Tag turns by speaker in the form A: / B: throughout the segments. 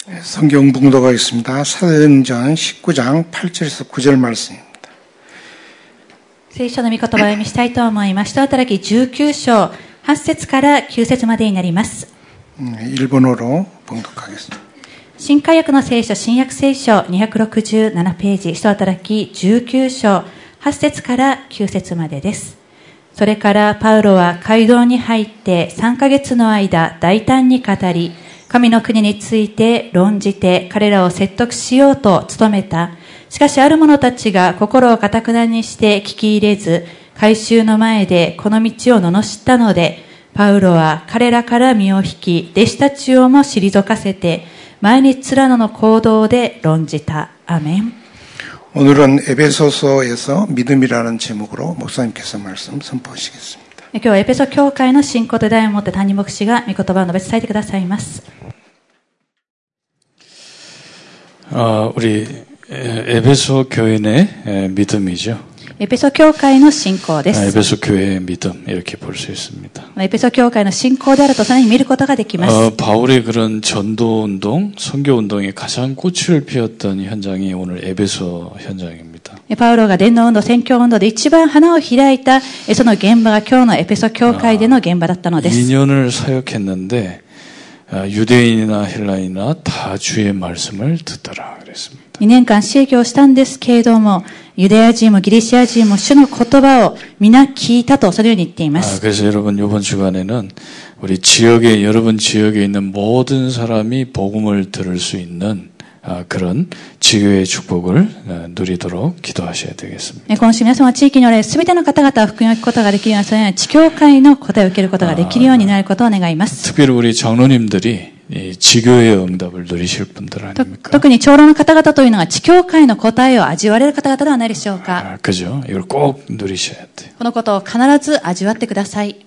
A: 성경 봉독가 있습니다. 사도행전 19장 8절에서 9절 말씀입니다.
B: 聖書の御言葉を読みしたいと思います。使徒働き19章8節から9節までになります。
A: 일본어로 봉독하겠습니다.
B: 新海訳の聖書、新約聖書267ページ、使徒働き19章8節から9節までです。それからパウロは街道に入って3ヶ月の間大胆に語り、神の国について論じて彼らを説得しようと努めた。しかしある者たちが心を堅くなにして聞き入れず、改宗の前でこの道を罵ったので、パウロは彼らから身を引き、弟子たちをも退かせて、毎日つらの行動で論じた。アメン。
A: 오늘은 에베소서에서 믿음이라는 제목으로 목사님께서 말씀 선포하시겠습니다.
B: 今日はエペソ教会の信仰と題をもって谷牧師が御言葉を述べ伝えてくださいます。
C: 우리 에베소 교회 내 믿음이죠.
B: エペソ教会の信仰です。
C: 에베소 교회의 믿음 이렇게 볼 수 있습니다.
B: エペソ教会の信仰であるとさらに見ることができます。
C: 바울의 그런 전도 운동, 선교 운동이 가장 꽃을 피웠던 현장이 오늘 에베소 현장입니다.
B: パウロが伝道運動、宣教運動で一番花を開いたその現場が今日のエペソ教会での現場だったのです。
C: 2년을 사역했는데 유대인이나 헬라인이나 다 주의 말씀을 듣더라 그랬습니다.
B: 2年間施教したんですけれども、ユダヤ人もギリシア人も主の言葉を皆聞いたとそのように言っています。
C: 그래서 여러분 이번 주간에는 우리 여러분 지역에 있는 모든 사람이 복음을 들을 수 있는 그런 지교의 축복을 누리도록 기도하셔야 되겠습니다.
B: 今週皆様地域におられるすべての方々は福音を聞くことができるような、そのような地教会の答えを受けることができるようになることを願います。
C: 특별히 우리 장로님들이 이 지교의 응답을 누리실 분들 아닙니까?
B: 特に長老の方々というのが地教会の答えを味わわれる方々ではないでしょうか。
C: 그죠? 이걸 꼭 누리셔야 돼요.
B: このことを必ず味わってください。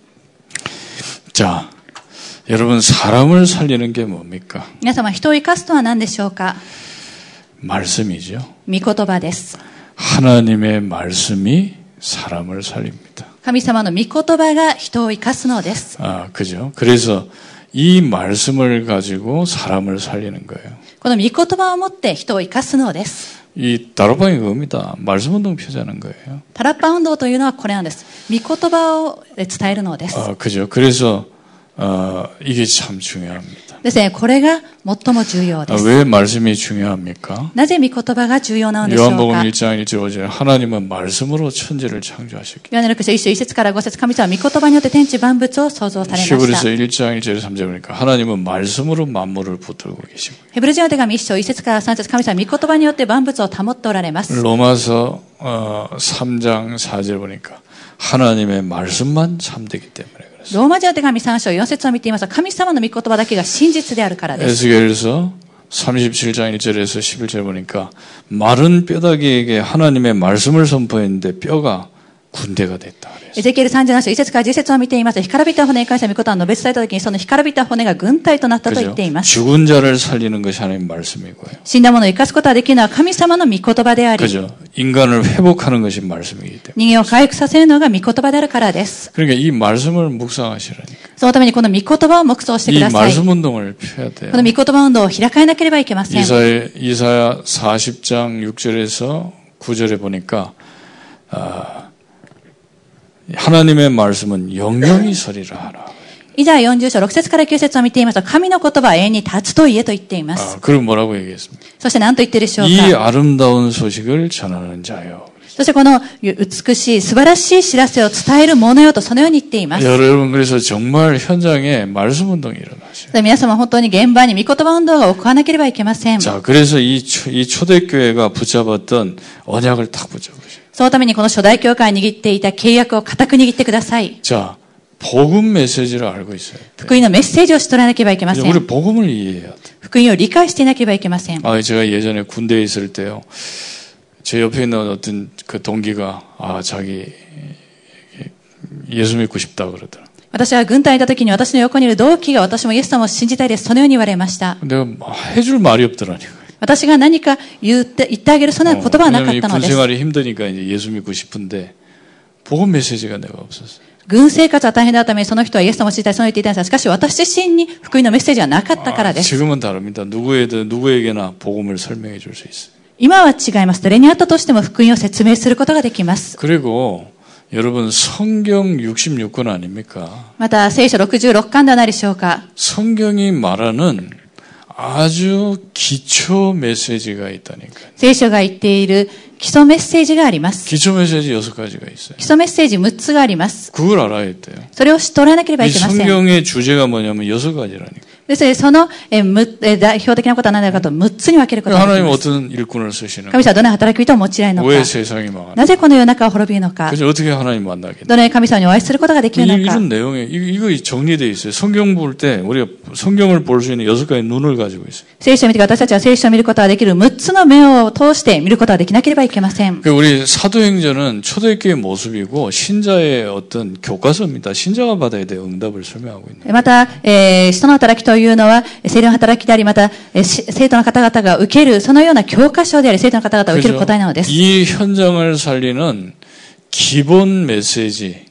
C: 자, 여러분 사람을 살리는 게 뭡니까?
B: 皆様人を生かすとは何でしょうか。
C: 말씀이죠.
B: 御言葉です。
C: 하나님의 말씀이 사람을 살립니다.
B: 神様の御言葉が人を生かすのです。
C: 그죠? 그래서 이 말씀을 가지고 사람을 살리는 거예요.
B: この御言葉を持って人を生かすのです。
C: 이 다락방이 그겁니다. 말씀 운동 펴자는 거예요.
B: タラッパ運動というのはこれなんです。御言葉を伝えるのです。
C: 그죠? 그래서 이게 참 중요합니다.
B: ですね、これが最も重要です。
C: 왜 말씀이 중요합니까?
B: なぜ御言葉が重要なのでしょうか。
C: 요한복음 1장 1절 5절 하나님은 말씀으로 천지를 창조하셨기.
B: ヨハネの福音書1章1節から5節、神様は御言葉によって天地万物を創造されました。
C: 히브리서 1장 1절 3절 보니까 하나님은 말씀으로 만물을 붙들고 계시고.
B: ヘブル人の手紙1章1節から3節、神様は御言葉によって万物を保っておられます。
C: 로마서 3장 4절 보니까 하나님의 말씀만 참되기 때문에.
B: ローマ人の手紙3章4節を見ていますと、神様の御言葉だけが真実であるからです。
C: 에스겔서 37장 1절에서 11절 보니까 마른 뼈다귀에게 하나님의 말씀을 선포했는데 뼈가 군대가 됐다.
B: エゼキエル37章1節から10節を見ていますと、干からびた骨に関して御言葉を述べ伝えたときに、その干からびた骨が軍隊となったと言っています。
C: 죽은 자를 살리는 것이 하나님의 말씀이고요.
B: 死んだ者を生かすことができるのは神様の御言葉であり、
C: 그죠? 인간을 회복하는 것이 말씀이기 때문에.
B: 人間を回復させるのが御言葉であるからです。
C: 그러니까 이 말씀을 묵상하시라니까.
B: そのためにこの御言葉を黙想してくだ
C: 이
B: さい。
C: 말씀 운동을 펴야 돼요.
B: この御言葉運動を開かなければいけません。
C: 이사야 40장 6절에서 9절에 보니까 하나님의 말씀은 영영이 서리라 하라.
B: 以下40章6節から9節を見ていますと、神の言葉は永遠に立つと言えと言っています。
C: 그럼 뭐라고 얘기했습니까?
B: そして何と言っているでしょう
C: 이
B: か。
C: 아름다운 소식을 전하는 자요.
B: そしてこの美しい素晴らしい知らせを伝えるものよとそのように言っています。
C: 여러분 그래서 정말 현장에 말씀 운동이 일어나셔요.
B: 皆様本当に現場に御言葉運動が行わなければいけません。
C: 자, 그래서 이 초대교회가 붙잡았던 언약을 탁 붙잡으셔요.
B: そのためにこの初代教会が握っていた契約を固く握ってください。
C: 자, 복음 메시지를 알고 있어요.
B: 福音のメッセージを知っておらなければいけません。
C: 우리 복음을 이해해야 돼.
B: 福音を理解していなければいけません。
C: 제가 예전에 군대에 있을 때요. 제 옆에 있는 어떤 그 동기가 자기 예수 믿고 싶다 그러더라.
B: 私は軍隊にいた時に私の横にいる同期が私もイエス様を信じたいです。そのように言われました。
C: 내가 해줄 말이 없더라니까.
B: 私が何か言ってあげるそんな言葉はなかったのです。
C: 군생활이 힘드니까 이제 예수 믿고 싶은데 복음 메시지가 내가 없었어요.
B: 軍生活は大変だったためにその人はイエス様を知りたい、その言っていたんですが、しかし私自身に福音のメッセージはなかったからです。
C: 지금은 다릅니다. 누구에게나 복음을 설명해 줄 수 있어요.
B: 今は違います。誰にあったとしても福音を説明することができます。
C: 그리고 여러분 성경 66권 아닙니까?
B: また聖書66巻ではないでしょうか。
C: 성경이 말하는 아주 기초 메시지가 있다니까요.
B: 聖書が言っている基礎メッセージがあります。
C: 기초 메시지 6가지가 있어요.
B: 基礎メッセージ6つがあります。
C: 그걸 알아야 돼요.
B: それを知っておらなければ
C: 이
B: いけません。
C: 성경의 주제가 뭐냐면 6가지라니까.
B: ですので、その代表的なことは何だかと6つに分けることができ
C: 하나님
B: ます。
C: 어떤 일꾼을 쓰시는가?
B: 神様はどのような働き人を用いられるのか。
C: 왜 세상이 망하는가?
B: なぜこの世の中を滅びるのか。
C: 그래서 어떻게 하나님 만나겠냐?
B: どのように神様にお会いすることができるのか。
C: 이런 내용에 이거 정리되어 있어요. 성경 볼 때 우리가 성경을 볼 수 있는 6가지 눈을 가지고 있어요.
B: 聖書を見て私たちは聖書を見ることができる6つの目を通して見ることができなければいけません。
C: 우리 사도행전은 초대교회의 모습이고 신자의 어떤 교과서입니다. 신자가 받아야 될 응답을 설명하고 있는.
B: また、使徒の働きというのは聖霊の働きであり、また生徒の方々が受けるそのような教科書であり、生徒の方々が受ける答えなのです。
C: 이 현장을 살리는 기본 메시지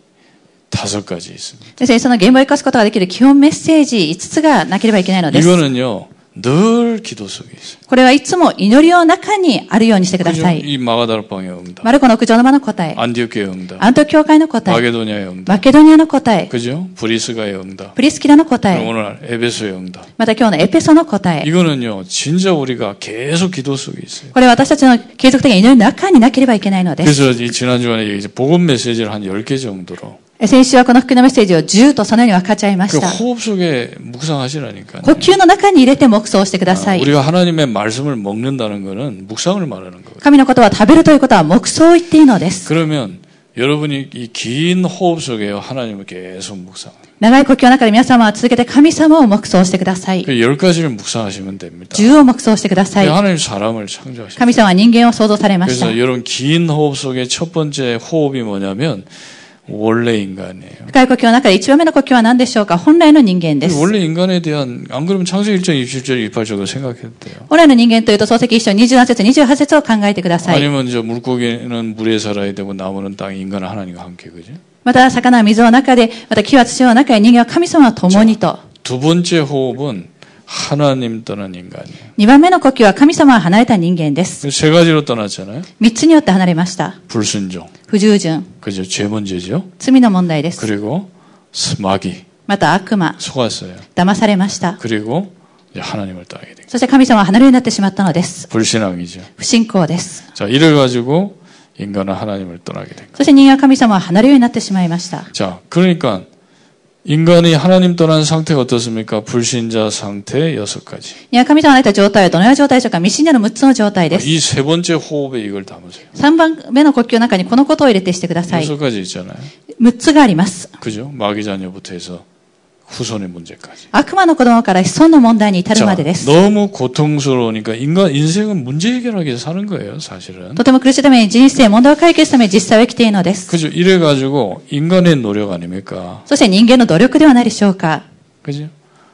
C: 5가지 있습니다.
B: ですね、その現場を生かすことができる基本メッセージ5つがなければいけないのです。
C: 이거는요. 늘 기도 속에 있어요.
B: これはいつも祈りの中にあるようにしてください。
C: 이 마가다락방의 응답,
B: マルコの屋上の間の答え、
C: 안디옥의 응답,
B: アント教会の答え、
C: 마게도니아의 응답,
B: マケドニアの答え、
C: 그죠? 브리스가의 응답,
B: プリスキラの答
C: 그리고
B: え、
C: 오늘 에베소의 응답.
B: また今日のエペソの答え。
C: 이거는요, 진짜 우리가 계속 기도 속에 있어요.
B: これは私たちの継続的な祈りの中になければいけないのです。
C: 그래서 이 지난주간에 이제 복음 메시지를 한 10개 정도로
B: 先週はこの福音のメッセージを10とそのように分かち合いま
C: 그
B: した。
C: 호흡 속에 묵상하시라니까요.
B: 呼吸の中に入れて黙想してください。
C: 우리가 하나님의 말씀을 먹는다는 것은 묵상을 말하는 거예요.
B: 神の言葉を食べるということは黙想を言っていいのです。
C: 그러면 여러분이 이 긴 호흡 속에 하나님을 계속 묵상.
B: 長い呼吸の中で皆様は続けて神様を黙想してください。
C: 그 10가지를 묵상하시면 됩니다.
B: 10を黙想してください。
C: 하나님 사람을 창조하셨어요.
B: 神様は人間を創造されました。
C: 그래서 여러분 긴 호흡 속에 첫 번째 호흡이 뭐냐면 원래 인간이에요.
B: 深い呼吸の中で1番目の呼吸は何でしょうか。本来の人間です。
C: 원래 인간에 대한 안 그러면 창세기 1장 27절 28절을 생각해도 돼요.
B: 本来の人間というと創世記1章27節28節を考えてください。
C: 아니면 저 물고기는 물에 살아야 되고 나무는 땅에 인간은 하나님과 함께 그죠?
B: また魚は水の中で、また木は土の中で人間は神様は共にと。
C: 두 번째 호흡은 하나님 떠난 인간이에요.
B: 2番目の呼吸は神様は離れた人間です。
C: 세 가지로 떠났잖아요.
B: 3つによって離れました。
C: 불순종,
B: 不従順、
C: 그죠? 죄 문제죠.
B: 罪の問題です。
C: 그리고 마귀,
B: また悪魔、
C: 속았어요.
B: 騙されました。
C: 그리고 이제 하나님을 떠나게 된 거예요.
B: そして神様は離れるようになってしまったのです。
C: 불신앙이죠.
B: 不信仰です。
C: 자, 이를 가지고 인간은 하나님을 떠나게 된 거예요.
B: そして人間は神様は離れるようになってしまいました。
C: 자, 그러니까 인간이 하나님 떠난 상태가 어떻습니까? 불신자 상태 6가지.
B: 人間は神様を離れた状態はどのような状態でしょうか。未信者の6つの状態です。
C: 이 세 번째 호흡에 이걸 담으세요.
B: 3番目の呼吸の中にこのことを入れてしてください。
C: 6가지 있잖아요.
B: 6つがあります。
C: 그죠? 마귀 자녀부터 해서 후손의 문제까지.
B: 悪魔の子供から子孫の問題に至る
C: 자,
B: までです。
C: 너무 고통스러우니까 인생은 문제 해결하기 위해서 사는 거예요, 사실은.
B: とても苦しいために人生、問題を解決するために実際は生きているのです。
C: 그죠? 이래가지고 인간의 노력 아닙니까?
B: そして人間の努力ではないでしょうか。
C: 그죠?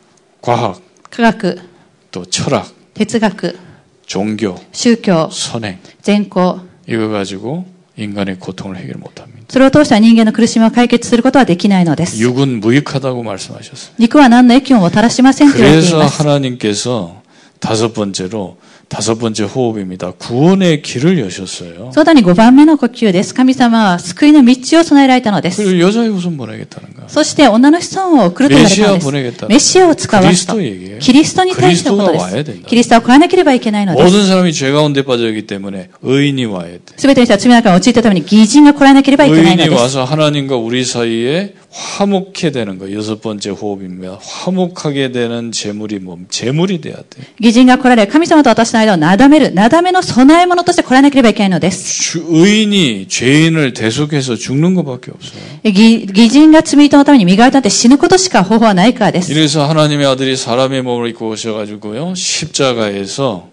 C: 과학,
B: 科学、
C: 또 철학,
B: 哲学、
C: 종교,
B: 宗教、
C: 선행.
B: 善行。
C: 이거 가지고 인간의 고통을 해결 못합니다.
B: それを通しては人間の苦しみを解決することはできないのです。
C: 육은 무익하다고 말씀하셨어요.
B: 肉は何の益ももたらしませんと言われてい
C: 그래서
B: ます。
C: 하나님께서 다섯 번째 호흡입니다. 구원의 길을 여셨어요.
B: その他に5番目の呼吸です。神様は救いの道を備えられたのです。
C: 그리고 여자의 후손 보내겠다는 거야.
B: そして女の子孫を送ると言われたのです。メシアを使わすと。キリストに対してのことです。キリストは来らなければいけないのです。
C: 모든 사람이 죄 가운데 빠져있기 때문에 의인이 와야 돼.
B: すべての人は罪の中に陥ったために義人が来らなければいけないの
C: 의인이
B: です。
C: 와서 하나님과 우리 사이에 화목해 되는 거. 6번째 호흡입니다. 화목하게 되는 제물이 제물이 돼야 돼.
B: 義人が来られ、神様と私の間をなだめる、なだめの備え物として来らなければいけないのです。
C: 의인이 죄인을 대속해서 죽는 것밖에 없어요.
B: 義人が罪人のために身代わりとなって死ぬことしか方法はないからです。
C: 이래서 하나님의 아들이 사람의 몸을 입고 오셔가지고요. 십자가에서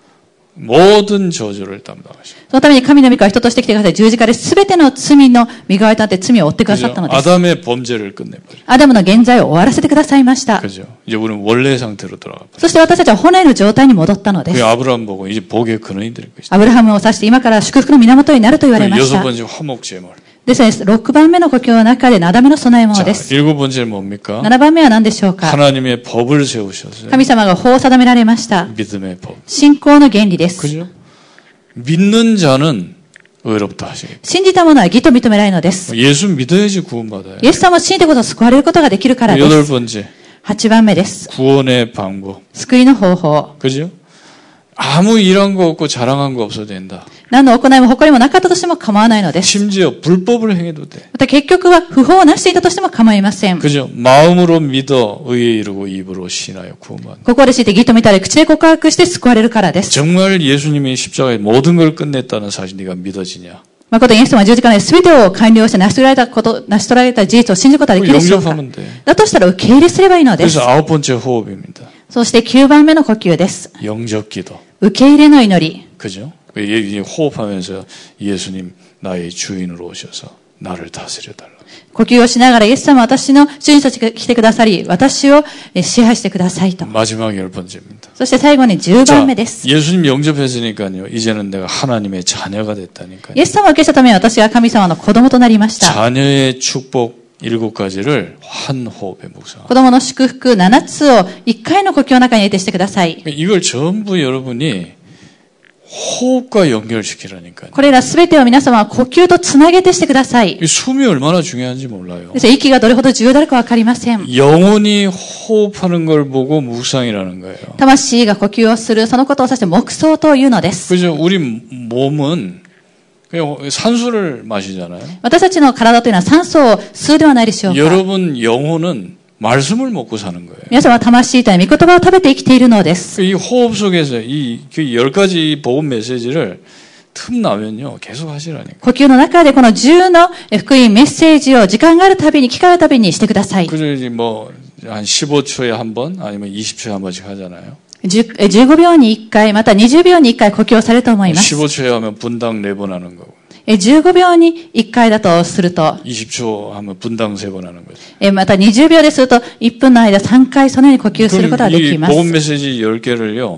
C: 모든 저주를 담당하십니다.
B: そのために神の御子は人として来てください。十字架で全ての罪の身代わりとなって罪を負ってくださったのです。
C: 아담의 범죄를 끝내버려.
B: アダムの現在を終わらせてくださいました。
C: 그죠? 이제 우리는 원래 상태로 돌아가.
B: そして私たちは本来の状態に戻ったのです。
C: 그 아브라함 보고 이제 복의 근원이 될 것이다.
B: アブラハムを指して今から祝福の源になると言われまし
C: 여섯
B: た。
C: 번째 화목 제물.
B: ですね、6番目の呼吸の中で7番目の備え物
C: 자,
B: です。
C: 7번째는 뭡니까?
B: 7番目は何でしょうか。
C: 하나님의 법을 세우셨어요.
B: 神様が法を定められました。
C: 믿음의 법.
B: 信仰の原理です。
C: 그죠? 믿는 자는 의롭다 하시겠다.
B: 信じた者は義と認められるのです。
C: 예수 믿어야지 구원받아요.
B: イエス様を信じてこそ救われることができるからです。
C: 8번째.
B: 8番目です。
C: 구원의 방법. 救
B: いの方法。
C: 그죠? 아무 일한 거 없고 자랑한 거 없어도 된다.
B: 何の行いも誇りもなかったとしても構わないのです。
C: 심지어 불법을 행해도 돼.
B: また結局は不法をなしていたとしても構いません。
C: 그죠? 마음으로 믿어 의에 이르고 입으로 신하여 구원받는다.
B: 心で知って義と見たり口で告白して救われるからです。
C: 정말 예수님이 십자가에 모든 걸 끝냈다는 사실 네가 믿어지냐?
B: 誠にイエス様は十字架で全てを完了して成し遂げられた事実を信じることができるでしょうか。
C: 영접하면 돼.
B: だとしたら受け入れすればいいのです。
C: 그래서 9번째 호흡입니다.
B: そして9番目の呼吸です。
C: 영접기도.
B: 受け入れの祈り。
C: 그죠? 호흡하면서 예수님 나의 주인으로 오셔서 나를 다스려달라.
B: 呼吸をしながらイエス様は私の主人として来てくださり、私を支配してくださいと。
C: 마지막 10번째입니다.
B: そして最後に10番目です。
C: 예수님 영접했으니까요. 이제는 내가 하나님의 자녀가 됐다니까요.
B: イエス様を受けしたために私は神様の子供となりました。
C: 자녀의 축복 7가지를 한 호흡에 묵상.
B: 子供の祝福7つを1回の呼吸の中に入れてしてください。
C: 이걸 전부 여러분이 호흡과 연결시키라니까요.
B: これらすべてを皆様は呼吸とつなげてしてください。
C: 숨이 얼마나 중요한지 몰라요.
B: 息がどれほど重要であるかわかりません。
C: 영혼이 호흡하는 걸 보고 묵상이라는 거예요.
B: 魂が呼吸をする、そのことを指して黙想というのです。
C: 그죠? 우리 몸은 그냥 산소를 마시잖아요.
B: 私たちの体というのは酸素を吸うではないでしょうか。
C: 여러분 영혼은 말씀을 먹고 사는 거예요.
B: 皆様は魂という御言葉を食べて生きているのです。
C: 이 호흡 속에서 이 10가지 복음 메시지를 틈나면요 계속 하시라니까.
B: 呼吸の中でこの10の福音メッセージを時間があるたびに、機会あるたびにしてください。
C: 그죠? 이제 뭐 한 15초에 한 번 아니면 20초에 한 번씩 하잖아요.
B: 15秒に1回、また20秒に1回呼吸をされると思います。
C: 15초에 하면 분당 4번 하는 거고.
B: 15秒に1回だとすると、
C: 20초 하면 분당 3번 하는 거죠.
B: また20秒ですると、1分の間3回そのように呼吸することができます。
C: 복음 메시지 10개를요.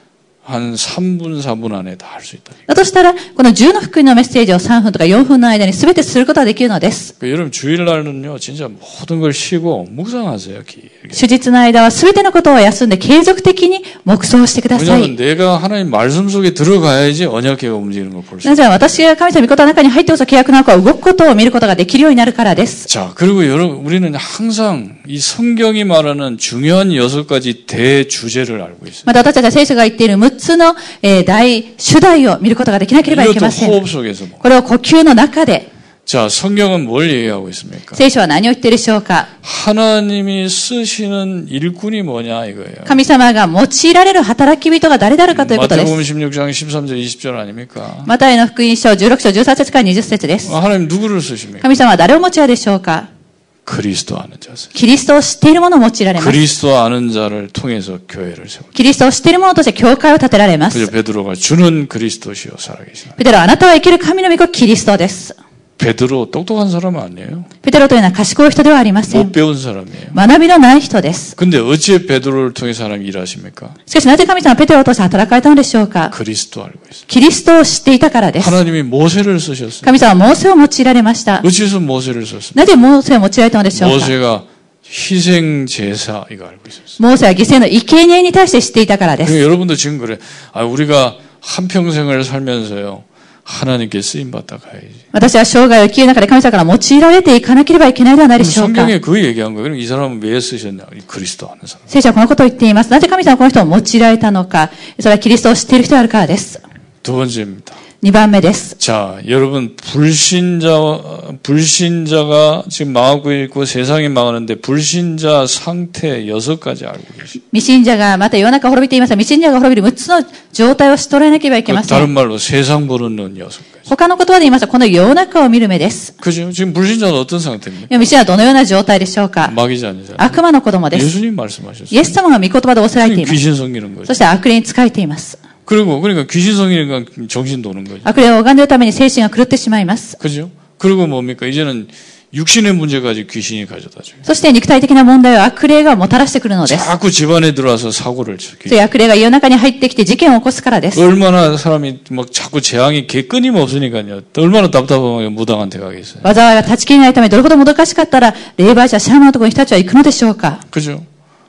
C: 한 3분, 4분 안에 다 할 수 있다.
B: だとしたら、この10の福音のメッセージを3分とか4分の間に全てすることができるのです。
C: 여러분 주일날은요, 진짜 모든 걸 쉬고 묵상하세요. 길게.
B: 主日の間は全てのことを休んで継続的に黙想してください。
C: 왜냐하면 내가 하나님 말씀 속에 들어가야지 언약궤가 움직이는 걸 볼 수 있어요.
B: なぜ私が神様御言葉の中に入ってこそ契約の中を動くことを見ることができるようになるからです。
C: 자, 그리고 여러분, 우리는 항상 이 성경이 말하는 중요한 6가지 대주제를 알고 있어요.
B: また私たちは聖書が言っている6つの大主題を見ることができなければいけません。
C: 호흡 속에서 뭐.
B: これを呼吸の中で。
C: 자, 성경은 뭘 얘기하고 있습니까?
B: 聖書は何を言っているでしょうか。
C: 하나님이 쓰시는 일꾼이 뭐냐 이거예요.
B: 神様が用いられる働き人が誰であるかということです。
C: 마태복음 16장 13절 20절 아닙니까?
B: マタイの福音書16章13節から20節です。
C: 하나님 누구를 쓰십니까?
B: 神様は誰を用いられるでしょうか。
C: 그리스도 아는 자세.
B: キリストを知っている者を用いられます。
C: 그리스도 아는 자를 통해서 교회를 세워.
B: キリストを知っている者として教会を建てられます。
C: 그래서 베드로가 주는 그리스도시요 살아계시나.
B: ペテロ、あなたは生きる神の御子キリストです。
C: 베드로 똑똑한 사람은 아니에요.
B: ペテロというのは賢い人ではありません。
C: 못 배운 사람이에요.
B: 学びのない人です。
C: 근데 어찌 베드로를 통해서 하나님 일하십니까?
B: しかしなぜ神様はペテロを通して働かれたのでしょうか。
C: 그리스도 알고 있어요.
B: キリストを知っていたからです。
C: 하나님이 모세를 쓰셨어요.
B: 神様はモーセを用いられました。
C: 어찌해서 모세를 썼습니까?
B: なぜモーセを用いられたのでしょうか。
C: 모세가 희생 제사 이거 알고 있었어요.
B: モーセは犠牲の生贄に対して知っていたからです。
C: 여러분도 지금 그래. 아, 우리가 한 평생을 살면서요. 하나님께 쓰임 받다 가야지.
B: 私は生涯を生きる中で神様から用いられていかなければいけないではないでしょうか。
C: 성경에 그 얘기한 거예요. 그럼 이 사람은 왜 쓰셨냐? 그리스도 아는 사람.
B: 聖書はこのことを言っています。なぜ神様はこの人を用いられたのか。それはキリストを知っている人であるからです。
C: 두 번째입니다.
B: 2番目です。
C: 자, 여러분 불신자가 지금 망하고 있고 세상이 망하는데 불신자 상태 6가지 알고 계십니다.
B: 未信者がまた世の中滅びていますが、未信者が滅びる6つの状態を知っておらなければいけませ
C: 다른
B: ん。
C: 말로 세상 보는 눈 6가지.
B: 他の言葉で言いますと、この世の中を見る目です。
C: 그죠? 지금 불신자는 어떤 상태입니까?
B: 未信者はどのような状態でしょうか。
C: 마귀자 아니잖아요.
B: 悪魔の子供です。
C: 예수님 말씀하셨어요.
B: イエス様が御言葉で仰せられています。
C: 귀신 성기는 거죠.
B: そして悪霊に仕えています。
C: 그러니까 귀신 성기니까 정신 도는 거죠.
B: 悪霊を拝んでいるために精神が狂ってしまいます。
C: 그죠? 그리고 뭡니까? 이제는 육신의 문제까지 귀신이 가져다 줘요.
B: そして肉体的な問題を悪霊がもたらしてくるのです。
C: 자꾸 집안에 들어와서 사고를 쳐.
B: それ悪霊が家の中に入ってきて事件を起こすからです。
C: 얼마나 사람이 막 자꾸 재앙이 끊임없으니까요. 얼마나 답답하게 무당한테 가겠어요.
B: 災いが断ち切れないためどれほどもどかしかったら霊媒師やシャーマンのところに人たちは行くのでしょうか。
C: 그죠?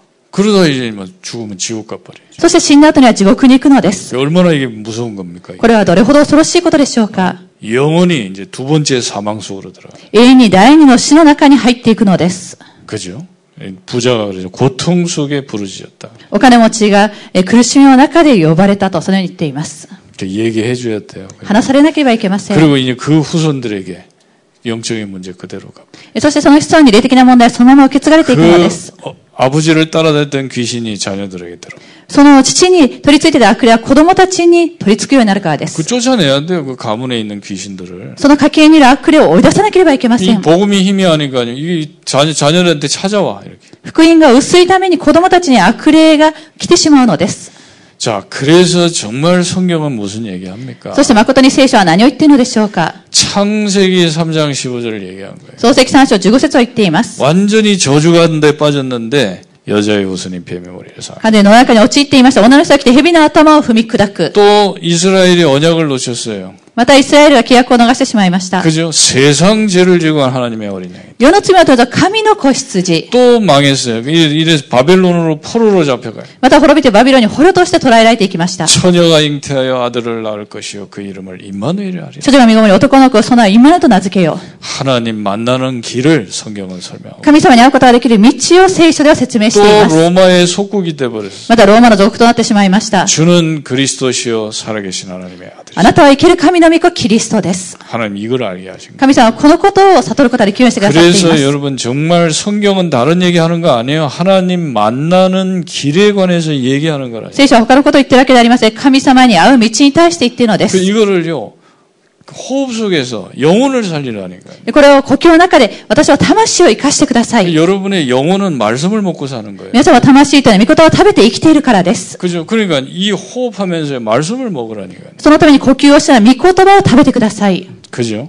C: 그러다 이제 뭐 죽으면 지옥 가버려요.
B: そして死んだ後には地獄に行くのです。
C: 얼마나 이게 무서운 겁니까?
B: これはどれほど恐ろしいことでしょうか。
C: 영원히 이제 두 번째 사망 속으로 들어가.
B: 永遠に第二の死の中に入っていくのです。
C: 그죠? 부자가 그러죠. 고통 속에 부르짖었다.
B: お金持ちが苦しみの中で呼ばれたとそのように言っています。
C: 얘기해 줘야 돼요.
B: 話されなければいけません。
C: 그리고 이제 그 후손들에게 영적인 문제 그대로 가.
B: そしてその子孫に霊的な問題はそのまま受け継がれていくのです。
C: 아버지를 따라다녔던 귀신이 자녀들에게 들어.
B: その父に取り付いていた悪霊は子供たちに取り付くようになるからです。
C: 그 쫓아내야 돼요. 그 가문에 있는 귀신들을.
B: その家系にいる悪霊を追い出さなければいけませ
C: 이
B: ん。
C: 복음이 힘이 아니까 이게 자녀들한테 찾아와 이렇게.
B: 福音が薄いために子供たちに悪霊が来てしまうのです。
C: 자, 그래서 정말 성경은 무슨 얘기합니까?
B: そして誠に聖書は何を言っているのでしょうか。
C: 창세기 3장 15절을 얘기한 거예요.
B: 創世記3章15節を言っています。
C: 완전히 저주가운데 빠졌는데 여자의 후손이 뱀의 머리를 사.
B: 彼の中に陥っていました。女の人が来て蛇の頭を踏み砕く。
C: 또 이스라엘이 언약을 놓쳤어요.
B: またイスラエルは契約を逃してしまいました。
C: 그죠? 세상 죄를 지고 한 하나님의 어린 양.
B: 世の罪を取ると神の子羊。
C: 또 망했어요. 이래서 바벨론으로 포로로 잡혀가요.
B: また滅びてバビロンに捕虜として捕らえられていきました。
C: 처녀가 잉태하여 아들을 낳을 것이요 그 이름을 임마누엘이라 하리라.
B: 処女が身ごもり男の子をそのイマヌと名付けよう。
C: 하나님 만나는 길을 성경은 설명하고.
B: 神様に会うことができる道を聖書では説明していま
C: 또
B: す。
C: 로마의 속국이 돼 버렸어요.
B: またローマの属となってしまいました。
C: 주는 그리스도시요 살아계신 하나님의 아들.
B: あなたは生ける神の御子キリストです。
C: 하나님 이걸 알게 하신 거예요.
B: 神様はこのことを悟ることができるようにしてくださっていま
C: 그래서
B: す。
C: 여러분 정말 성경은 다른 얘기하는 거 아니에요. 하나님 만나는 길에 관해서 얘기하는 거라.
B: 聖書は他のことを言ってるわけではありません。神様に会う道に対して言っているのです。
C: 이거를요 호흡 속에서 영혼을 살리라니까요.
B: これを呼吸の中で私は魂を生かしてください。
C: 여러분의 영혼은 말씀을 먹고 사는 거예요.
B: 皆様は魂というのは御言葉を食べて生きているからです。
C: 그죠? 그러니까 이 호흡하면서 말씀을 먹으라니까요.
B: そのために呼吸をしたら御言葉を食べてください。
C: 그죠?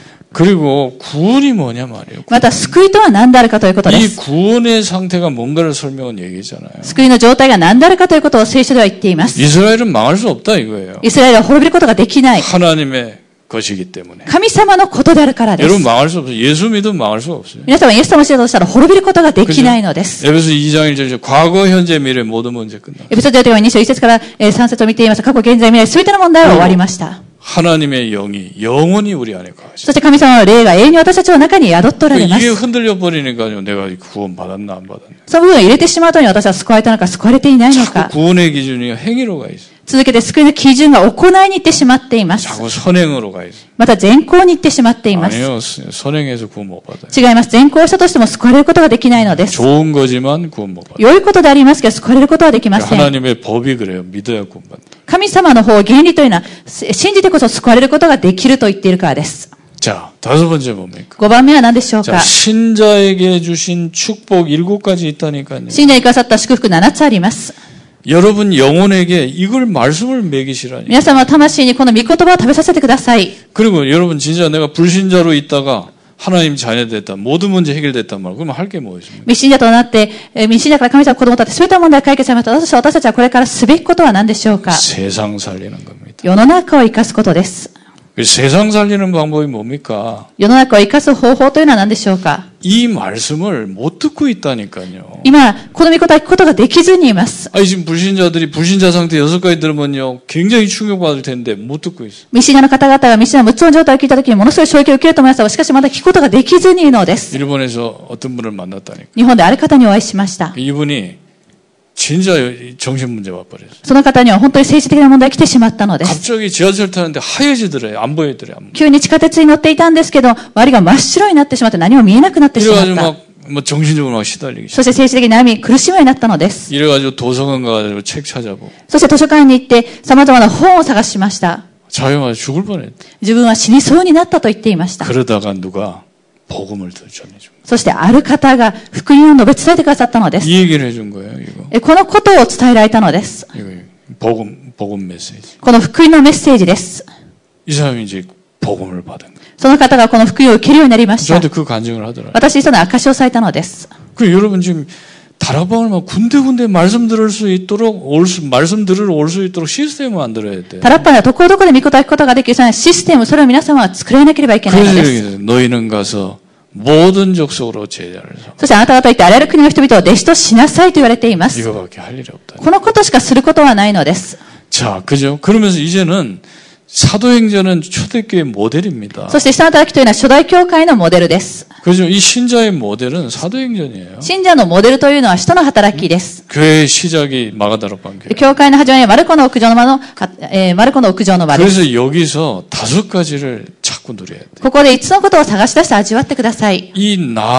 C: 그리고 구원이 뭐냐 말이에요.
B: また救いとは何であるかということで
C: 이
B: す。
C: 구원의 상태가 뭔가를 설명한 얘기잖아요.
B: 救いの状態が何であるかということを聖書では言っています。
C: 이스라엘은 망할 수 없다 이거예요.
B: イスラエルは滅びることができない。
C: 하나님의 것이기 때문에.
B: 神様のことであるからで
C: 여러분
B: す。
C: 망할 수 없어요. 예수 믿으면 망할 수 없어요.
B: 皆様イエス様を知るとしたら滅びることができないのです。
C: 에베소 2장 1절 과거 현재 미래 모든 문제 끝나.
B: エピソードでは2章1節から3節を見ています。過去、現在、未来、すべての問題は終わりました。
C: 하나님의 영이 영원히 우리 안에 거하시죠.
B: そして神様の霊が永遠に私たちの中に宿っておられま
C: 이게
B: す。
C: 흔들려 버리니까요. 내가 구원 받았나 안 받았나.
B: その部分を入れてしまうとに私は救われたのか救われていないのか。
C: 구원의 기준이 행위로 가 있어요.
B: 続けて救いの基準が行いに行ってしまっています。
C: 자꾸 선행으로 가 있어요.
B: また善行に行ってしまっています。
C: 아니요. 선행해서 구원 못 받아요.
B: 違います。善行したとしても救われることができないのです。
C: 좋은 거지만 구원 못 받아요.
B: 良いことでありますけど救われることはできません。
C: 하나님의 법이 그래요. 믿어야 구원 받는다.
B: 神様の方、原理というのは信じてこそ救われることができると言っているからです。
C: 자, 다섯 번째 뭡니까?
B: 5番目は何でしょう
C: 자,
B: か。
C: 신자에게 주신 축복 7가지 있다니까요.
B: 信者にくださった祝福7つあります。
C: 여러분 영혼에게 이걸 말씀을 먹이시라니.
B: 皆様は魂にこの御言葉を食べさせてください。
C: 그리고 여러분 진짜 내가 불신자로 있다가 하나님 자녀 됐다. 모든 문제 해결됐단 말. 그러면 할 게 뭐 있습니까?
B: 未信者となって、未信者から神様の子供たって全ての問題を解決されました。私たちはこれからすべきことは何でしょうか。
C: 세상 살리는 겁니다.
B: 世の中を生かすことです。
C: 세상 살리는 방법이 뭡니까?
B: 世の中を生かす方法というのは何でしょうか。
C: 이 말씀을 못 듣고 있다니까요.
B: 今、この御言葉を聞くことができずにいます。
C: 아니 지금 불신자들이 불신자 상태 6가지 들으면요. 굉장히 충격받을 텐데 못 듣고 있어요.
B: 未信者の方々が未信者の無知の状態を聞いたときにものすごい衝撃を受けると思いますが、しかしまだ聞くことができずにいるのです。
C: 일본에서 어떤 분을 만났다니까.
B: 日本である方にお会いしました。
C: 이분이 진짜 정신문제 와버렸어요.
B: その方には本当に政治的な問題が来てしまったのです。
C: 갑자기 지하철 타는데 하얘지더래요. 안 보이더래요.
B: 急に地下鉄に乗っていたんですけど、周りが真っ白になってしまって何も見えなくなってしまっ
C: 이래가지고
B: た。
C: 뭐 정신적으로 막 시달리기 시작.
B: そして政治的に悩み苦しむようになったのです。
C: 이래가지고 도서관 가가지고 책 찾아보고.
B: そして図書館に行って様々な本を探しました。
C: 자기가 죽을 뻔했대.
B: 自分は死にそうになったと言っていました。
C: 그러다가 누가 복음을 전해준.
B: そしてある方が福音を述べ伝えてくださったのです。
C: 이 얘기를 해준 거예요. 이거.
B: このことを伝えられたのです。
C: 이거 복음 메시지.
B: この福音のメッセージです。
C: 이 사람이 이제 복음을 받은 거예요.
B: その方がこの福音を受けるようになりました。
C: 저한테 그 간증을 하더라고요.
B: 私にその証しをされたのです。
C: 그 여러분 지금 다락방을 막 군데군데 말씀 들을 수 있도록 말씀 들으러 올 수 있도록 시스템을 만들어야 돼.
B: タラッパンはどこどこで御言葉を聞くことができるシステム、それを皆様は作らなければいけないのです。
C: 너희는 가서 모든 족속으로 제자를 삼아.
B: そしてあなた方は言ってあらゆる国の人々を弟子としなさいと言われています。
C: 이거밖에 할 일이 없다.
B: このことしかすることはないのです。
C: 자, 그죠? 그러면서 이제는 사도행전은 초대교회 모델입니다.
B: そして使徒の働きというのは初代教会のモデルです。
C: 그죠? 이 신자의 모델은 사도행전이에요.
B: 信者のモデルというのは使徒の働きです。
C: 교회의 시작이 마가다락방 교회.
B: 教会の始まりはマルコの屋上の間の、マルコの屋上の場です。
C: 그래서 여기서 5가지를 자꾸 누려야 돼.
B: ここで5つのことを探し出して味わってください。
C: 이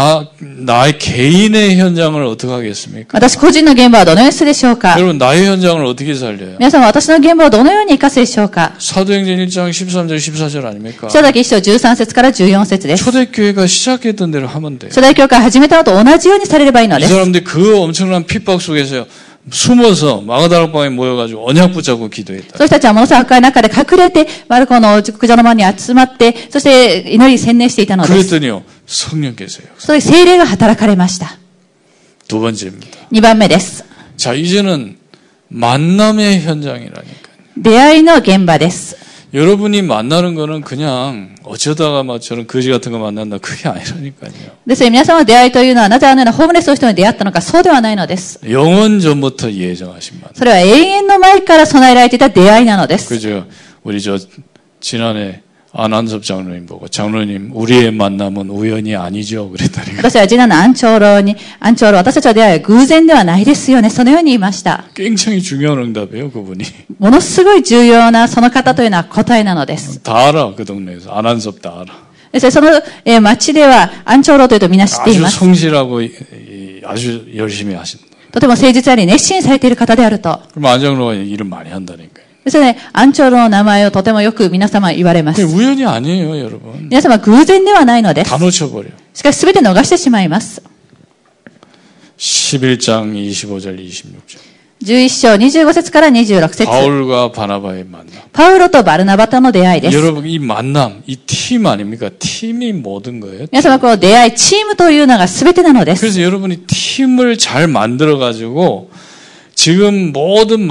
C: 나의 개인의 현장을 어떻게 하겠습니까?
B: 私個人の現場はどのようにするでしょうか。
C: 여러분 나의 현장을 어떻게 살려요?
B: 皆さんは私の現場をどのように生かすでしょうか。
C: 사도행전 1장 13절 14절 아닙니까?
B: 使徒だけ1章13節から14節です。
C: 초대교회가 시작했던 대로 하면 돼요.
B: 初代教会始めたのと同じようにされればいいの
C: 이
B: です。
C: 사람들이 그 엄청난 핍박 속에서 숨어서 마가다락방에 모여가지고 언약 붙잡고 기도했다.
B: そういう人たちはものすごく赤い中で隠れてマルコの屋上の間に集まって、そして祈りに専念していたのです。
C: 그랬더니요 성령께서요.
B: それで聖霊が働かれました。
C: 두 번째입니다.
B: 2番目です。
C: 자 이제는 만남의 현장이라니까요.
B: 出会いの現場です。
C: 여러분이 만나는 거는 그냥 어쩌다가 막 저런 거지 같은 거 만난다 그게 아니라니까요.
B: ですね、皆様の出会いというのはなぜあのようなホームレスの人に出会ったのか、そうではないのです。
C: 영원 전부터 예정하신 만남.
B: それは永遠の前から備えられていた出会いなのです。
C: 그죠? 우리 저 지난해 안한섭 장로님 보고 장로님 우리의 만남은 우연이 아니죠 그랬다니까.
B: 私は次男の安長老、私たちの出会いは偶然ではないですよね。そのように言いました。
C: 굉장히 중요한 응답이에요 그분이.
B: ものすごい重要なその方というのは答えなのです。
C: 다 알아 그 동네에서 안한섭 다 알아.
B: ですね、その町では安長老というとみんな知ってい
C: 아주
B: ます。
C: 성실하고 아주 열심히 하신다.
B: とても誠実あり熱心されている方であると。
C: 그럼 안 장로가 일을 많이 한다니까요.
B: ですね、安長老の名前をとてもよく皆様言われま
C: 그게
B: す。
C: 우연이 아니에요 여러분.
B: 皆様偶然ではないのです。
C: 다 놓쳐버려.
B: しかし全て逃してしまいます。
C: 11장 25절 26절.
B: 11章25節から26節。
C: 바울과 바나바의 만남.
B: パウロとバルナバとの出会いです。
C: 여러분 이 만남, 이 팀 아닙니까? 팀이 모든 거예요.
B: 皆様この出会い、チームというのが全てなのです。
C: 그래서 여러분이 팀을 잘 만들어 가지고 지금 모든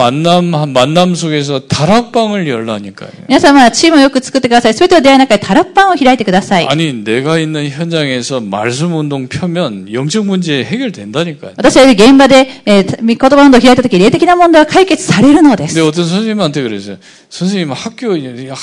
C: 만남 속에서 다락방을 열라니까요.
B: 皆様はチームをよく作ってください。全ての出会いの中でタラッパンを開いてください。
C: 아니 내가 있는 현장에서 말씀 운동 펴면 영적 문제 해결된다니까요.
B: 私は現場で、言葉運動を開いたとき、霊的な問題は解決されるのです。
C: 근데 어떤 선생님한테 그랬어요. 선생님 학교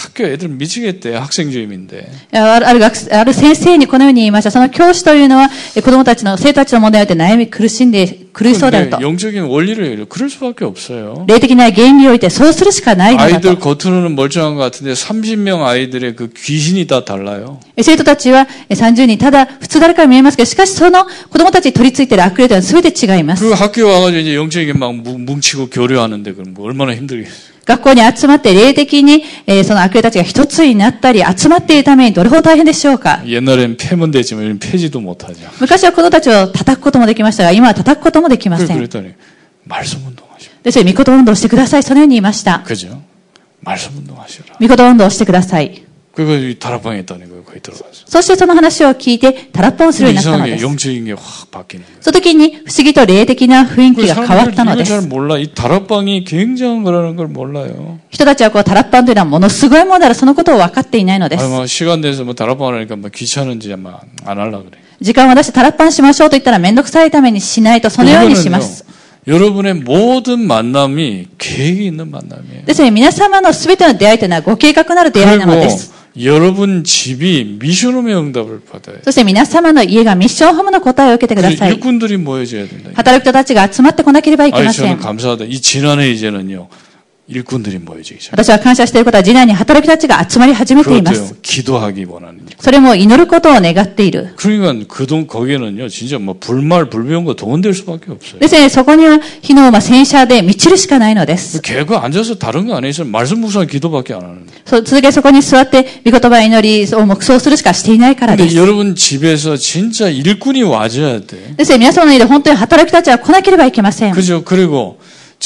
C: 애들 미치겠대. 학생 주임인데.
B: ある先生にこのように言いました。その教師というのは子供たちの生徒たちの問題によって悩み苦しそうであると。
C: 영적인 원리를 그럴 수밖에 없어요.
B: 霊的な原理においてそうするしかないのだと。
C: 아이들 겉으로는 멀쩡한 것 같은데 30명 아이들의 그 귀신이 다 달라요.
B: 生徒たちは30人、ただ普通誰かに見えますけど、しかしその子供たちに取り付いている悪霊というのは全て違います。
C: 그 학교에 와가지고 이제 영적인 막 뭉치고 교류하는데 그럼 뭐 얼마나 힘들겠어요.
B: 学校に集まって霊的に、その悪霊たちが一つになったり集まっているためにどれほど大変でしょうか。
C: 옛날엔 패면 되지만 요즘 패지도 못하죠.
B: 昔は子供たちを叩くこともできましたが、今は叩くこともできません。
C: 그랬더니 말씀 운동하시오.
B: ですから、御言葉運動をしてください。そのように言いました。
C: 그죠? 말씀 운동하시라.
B: 御言葉運動をしてください。
C: 그거 다락방에 있다는 거예요. 거기 들어가서.
B: そしてその話を聞いて、タラッパンをするようになったので
C: 이상하게
B: す。
C: 영적인 게 확 바뀌는 거예요.
B: その時に不思議と霊的な雰囲気が変わったので
C: 잘
B: す。
C: 몰라. 이 다락방이 굉장한 거라는 걸 몰라요.
B: 人たちはこうタラッパンというのはものすごいものである、そのことを分かっていないのです。
C: 아, 뭐 시간 돼서 뭐 다락방 하니까 뭐 귀찮은지 아마 안 하려 그래.
B: 時間を出してタラッパンしましょうと言ったらめんどくさいためにしないと、そのようにします。
C: 여러분의 모든 만남이 계획이 있는 만남이에요.
B: ですね、皆様のすべての出会いというのはご計画のある出会いなのです。
C: 여러분 집이 미션홈의 응답을 받아요.
B: そして皆様の家がミッションホームの答えを受けてください。
C: 일꾼들이 모여져야 된다.
B: 働く人たちが集まってこなければいけませ
C: 저는
B: ん。
C: 감사하다. 이 지난해 이제는요. 일꾼들이 모여지기 시작.
B: 私は感謝していることは、次男に働く人たちが集まり始めていま
C: 그것도요.
B: す。
C: 기도하기 원하는 일.
B: それも祈ることを願っている。
C: 그러니까 거기에는요. 진짜 뭐 불비운 거 동원될 수밖에 없어요.
B: ですね、そこには火の戦車で満ちるしかないのです。
C: 걔가 앉아서 다른 거 안 해서 말씀 묵상 기도밖에 안 하는데.
B: 続けそこに座って、御言葉祈りを黙想するしかしていないからで
C: 근데
B: す。
C: 여러분 집에서 진짜 일꾼이 와줘야 돼.
B: ですね、皆様の家で本当に働く人たちは来なければいけません。
C: 그죠? 그리고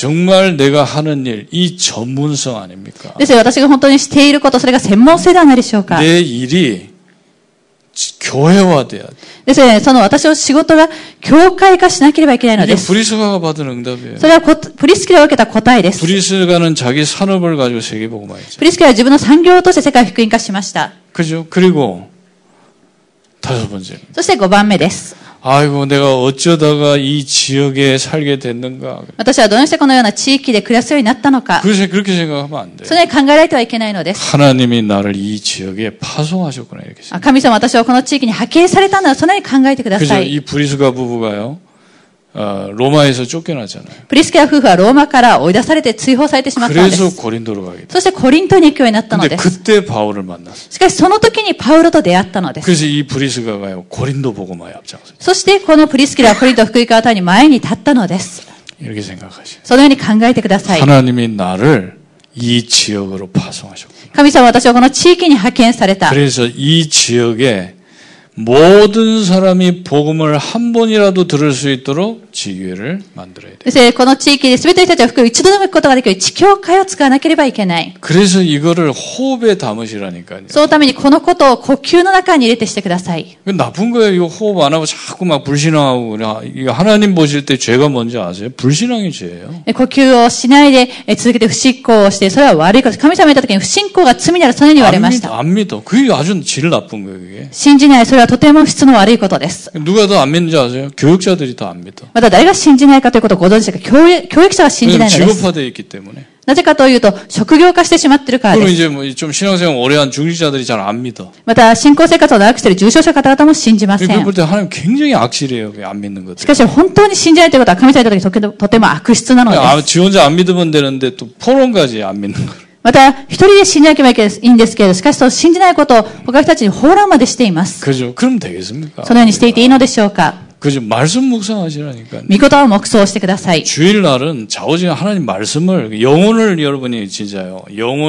C: 정말 내가 하는 일, 이 전문성 아닙니까?
B: ですね、私が本当にしていること、それが専門性ではないでしょうか。
C: 내 일이 교회화돼야 돼.
B: ですね、その私の仕事が教会化しなければいけないの
C: 이게
B: です。
C: 브리스가가 받은 응답이에요.
B: それはプリスキラが受けた答えです。
C: 브리스가는 자기 산업을 가지고 세계복음화했죠.
B: プリスキラは自分の産業として世界福音化しました。
C: 그죠? 그리고 5번째.
B: そして5番目です。
C: 아이고 내가 어쩌다가 이 지역에 살게 됐는가.
B: 私はどうしてこのような地域で暮らすようになったのか。
C: 그렇게 생각하면 안 돼요.
B: それに考えられてはいけないのです。
C: 하나님이 나를 이 지역에 파송하셨구나 이렇게 생각해요.
B: 神様は私をこの地域に派遣されたんだ。そのように考えてくだ
C: 그죠?
B: さい。
C: 이 브리스가 부부가요. 로마에서 쫓겨났잖아요.
B: プリスキラ夫婦はローマから追い出されて追放されてしまったので
C: 그래서
B: す。
C: 고린도로 가게 돼요.
B: そしてコリントに行くようになったの
C: 근데
B: です。
C: 그때 바울을 만났어요.
B: しかしその時にパウロと出会ったのです。
C: 그래서 이 브리스가가요. 고린도 복음화에 앞장서요.
B: そしてこのプリスキラはコリント福音化のために前に立ったのです。
C: 이렇게 생각하시죠.
B: そのように考えてください。
C: 하나님이 나를 이 지역으로 파송하셨고.
B: 神様は私をこの地域に派遣された。
C: 그래서 이 지역에 모든 사람이 복음을 한 번이라도 들을 수 있도록 지교회를 만들어야 돼요.
B: ですね、この地域で全ての人たちが福音を一度でも行くことができる地教会を使わなければいけない。
C: 그래서 이거를 호흡에 담으시라니까요.
B: そのためにこのことを呼吸の中に入れてしてください。
C: 나쁜 거예요. 이거 호흡 안 하고 자꾸 막 불신앙하고 이거 하나님 보실 때 죄가 뭔지 아세요? 불신앙이 죄예요.
B: 呼吸をしないで続けて不信仰をして、それは悪いこと。神様が言った時に不信仰が罪になる、そのように言われました。
C: 안 믿어. 그게 아주 질 나쁜 거예요. 그게.
B: 信じない、それはとても質の悪いことです。
C: 누가 더 안 믿는지 아세요? 교육자들이 더 안 믿어.
B: また誰が信じないかということをご存知ですか？教育者は信じないのです。
C: 직업화되어 있기 때문에.
B: なぜかというと、職業化してしまっているからで
C: 그리고
B: す。
C: 이제 뭐 좀 신앙생활 오래 한 중직자들이 잘 안 믿어.
B: また、信仰生活を長くしている重症者の方々も信じませ
C: 그걸
B: ん。
C: 볼 때 하나님 굉장히 악질이에요. 안 믿는
B: し
C: 것들.
B: かし、本当に信じないということは、神様に言った時にとても悪質なのです。
C: 지 혼자 안 믿으면 되는데 또 포럼까지 안 믿는 거.
B: また、一人で信じなければいいんですけれど、しかし、その信じないことを他の人たちに放浪までしています。
C: 그죠? 그럼 되겠습니까?
B: そのようにしていていいのでしょうか？
C: 그죠? 말씀 묵상하시라니까.
B: 御言葉を黙想してください。
C: 주일날은 좌우지간 하나님 말씀을 영혼을 여러분이 진짜요.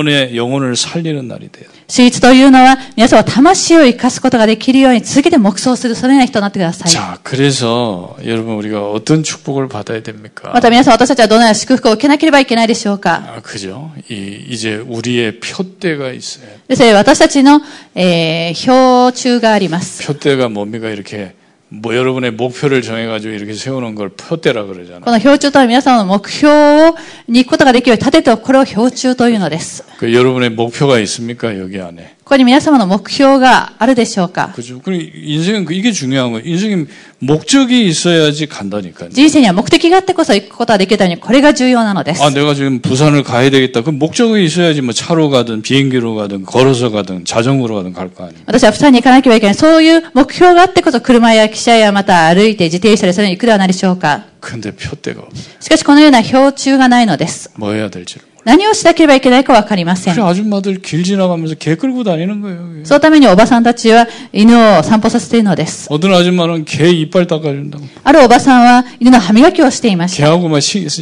C: 영혼을 살리는 날이 돼요.
B: 主日というのは、皆さんは魂を生かすことができるように続けて黙想する、そのような人になってください。
C: 자, 그래서 여러분 우리가 어떤 축복을 받아야 됩니까?
B: また皆さん、私たちはどのような祝福を受けなければいけないでしょうか？
C: 그죠? 이제 우리의 표대가 있어요.
B: ですね、私たちの、標柱があります。
C: 표대가 뭡니까? 이렇게 뭐 여러분의 목표를 정해가지고 이렇게 세우는 걸 표대라 그러잖아요.
B: この標柱とは皆さんの目標に行くことができるように立てて、これを標柱というのです。
C: 그 여러분의 목표가 있습니까? 여기 안에.
B: ここに皆様の目標があるでしょうか？
C: 그죠? 그리고 인생은 이게 중요한 거예요. 인생에 목적이 있어야지 간다니까요.
B: 人生には目的があってこそ行くことができるために、これが重要なのです。
C: 아, 내가 지금 부산을 가야 되겠다. 그 목적이 있어야지 뭐 차로 가든 비행기로 가든 걸어서 가든 자전거로 가든 갈 거 아니에요.
B: 私は釜山に行かなければいけない。そういう目標があってこそ車や汽車やまた歩いて自転車でそれに行くではないでしょうか。
C: 근데 표대가 없어요.
B: しかしこのような標柱がないのです。
C: 뭐 해야 될지를.
B: 何をしなければいけないかわかりません。
C: 그래 아줌마들 길 지나가면서 개 끌고 다니는 거예요.
B: そのためにおばさんたちは犬を散歩させているのです。
C: 어떤 아줌마는 개 이빨 닦아준다고.
B: あるおばさんは犬の歯磨きをしていました。
C: 개하고 막